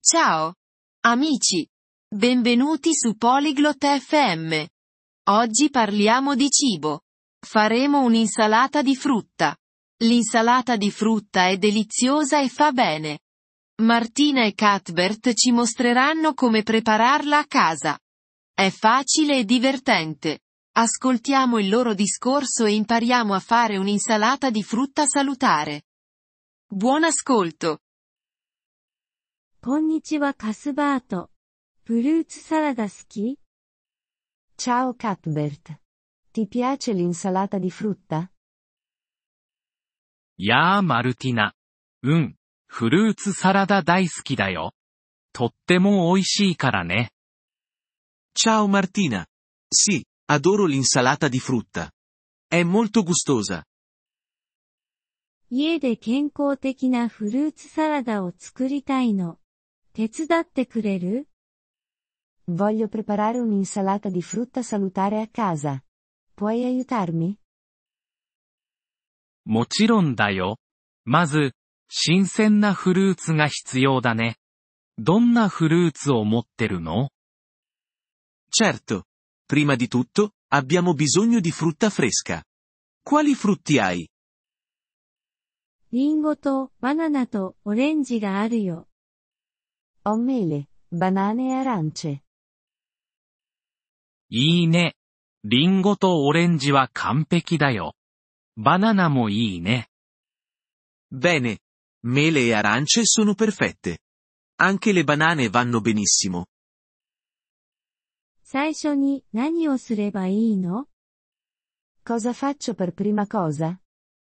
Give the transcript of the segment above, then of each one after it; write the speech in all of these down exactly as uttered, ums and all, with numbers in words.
Ciao! Amici! Benvenuti su Polyglot F M. Oggi parliamo di cibo. Faremo un'insalata di frutta. L'insalata di frutta è deliziosa e fa bene. Martina e Cuthbert ci mostreranno come prepararla a casa. È facile e divertente. Ascoltiamo il loro discorso e impariamo a fare un'insalata di frutta salutare. Buon ascolto! こんにちはカスバート。フルーツサラダ好き？ Ciao Cuthbert. Ti piace l'insalata di frutta? やあマルティナ。うん、フルーツサラダ大好きだよ。とっても美味しいからね。 Ciao Martina. Sì, adoro l'insalata di frutta. È molto gustosa. 家で健康的なフルーツサラダを作りたいの。手伝ってくれる？ Voglio preparare un'insalata di frutta salutare a casa. Puoi aiutarmi? もちろんだよ。まず、新鮮なフルーツが必要だね。どんなフルーツを持ってるの？ Certo. Prima di tutto, abbiamo bisogno di frutta fresca. Quali frutti hai? リンゴとバナナとオレンジがあるよ。 Ho mele, banane e arance. いいね。リンゴとオレンジは完璧だよ。バナナもいいね。 Bene. Mele e arance sono perfette. Anche le banane vanno benissimo. 最初に何をすればいいの？ Cosa faccio per prima cosa?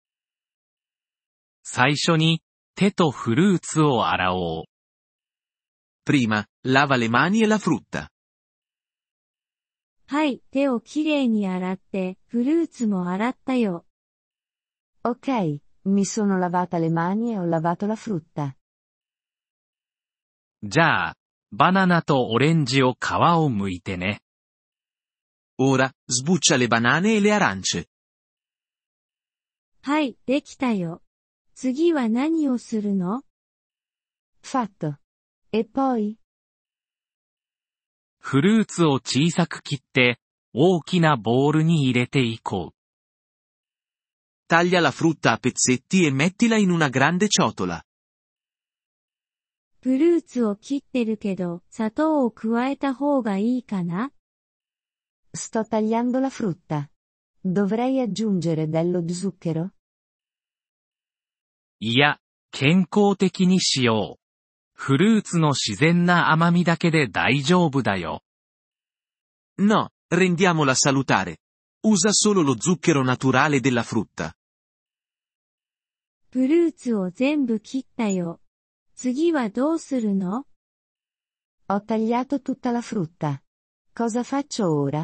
最初に、手とフルーツを洗おう。 Prima, lava le mani e la frutta. はい、手をきれいに洗って、フルーツも洗ったよ。 Ok, mi sono lavata le mani e ho lavato la frutta. じゃあ、バナナとオレンジを皮を剥いてね。 Ora, sbuccia le banane e le arance. はい、できたよ。次は何をするの？ Fatto. E poi? フルーツを小さく切って、大きなボウルに入れていこう。 Taglia la frutta a pezzetti e mettila in una grande ciotola. フルーツを切ってるけど、砂糖を加えた方がいいかな？ Sto tagliando la frutta. Dovrei aggiungere dello zucchero? いや、健康的にしよう。フルーツの自然な甘みだけで大丈夫だよ。 No, rendiamola salutare. Usa solo lo zucchero naturale della frutta. フルーツを全部切ったよ。次はどうするの？ Ho tagliato tutta la frutta. Cosa faccio ora?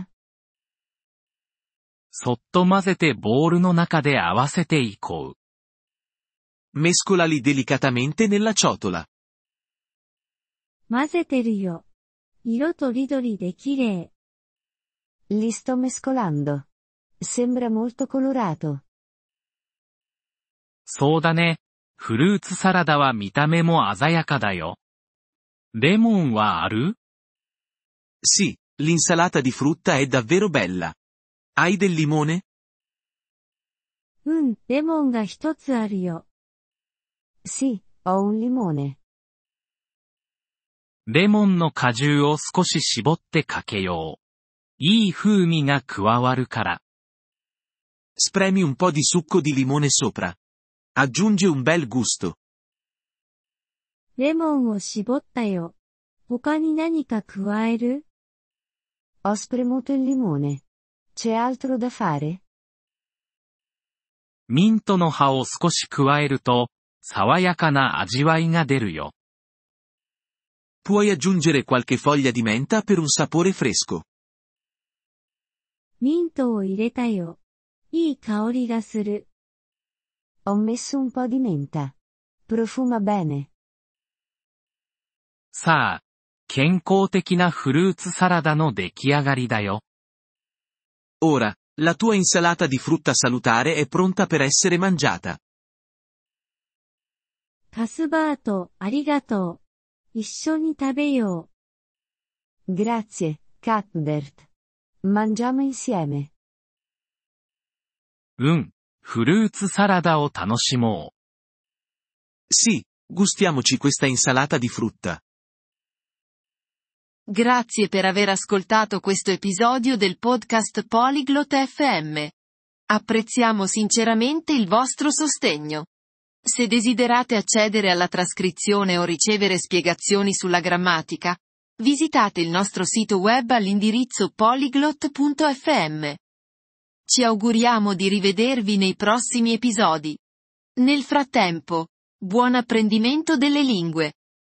そっと混ぜてボウルの中で合わせていこう。 Mescolali delicatamente nella ciotola. 混ぜてるよ。色とりどりで綺麗。 Li sto mescolando. Sembra molto colorato. そうだね。フルーツサラダは見た目も鮮やかだよ。レモンはある？ Sì, l'insalata di frutta è davvero bella. Hai del limone? うん、レモンが一つあるよ。 Sì, ho un limone. レモンの果汁を少し絞ってかけよう。いい風味が加わるから。 Spremi un po' di succo di limone sopra. Aggiunge un bel gusto. レモンを絞ったよ。他に何か加える？ Ho spremuto il limone. C'è altro da fare? ミントの葉を少し加えると、爽やかな味わいが出るよ。 Puoi aggiungere qualche foglia di menta per un sapore fresco. ミントを入れたよ。いい香りがする。 Ho messo un po' di menta. Profuma bene. さあ、健康的なフルーツサラダの出来上がりだよ。 Ora, la tua insalata di frutta salutare è pronta per essere mangiata. カスバート、ありがとう。 一緒に食べよ Grazie, Cuthbert. Mangiamo insieme. うん、フルーツサラダを楽しも Sì, gustiamoci questa insalata di frutta. Grazie per aver ascoltato questo episodio del podcast Polyglot F M. Apprezziamo sinceramente il vostro sostegno. Se desiderate accedere alla trascrizione o ricevere spiegazioni sulla grammatica, visitate il nostro sito web all'indirizzo polyglot punto f m. Ci auguriamo di rivedervi nei prossimi episodi. Nel frattempo, buon apprendimento delle lingue.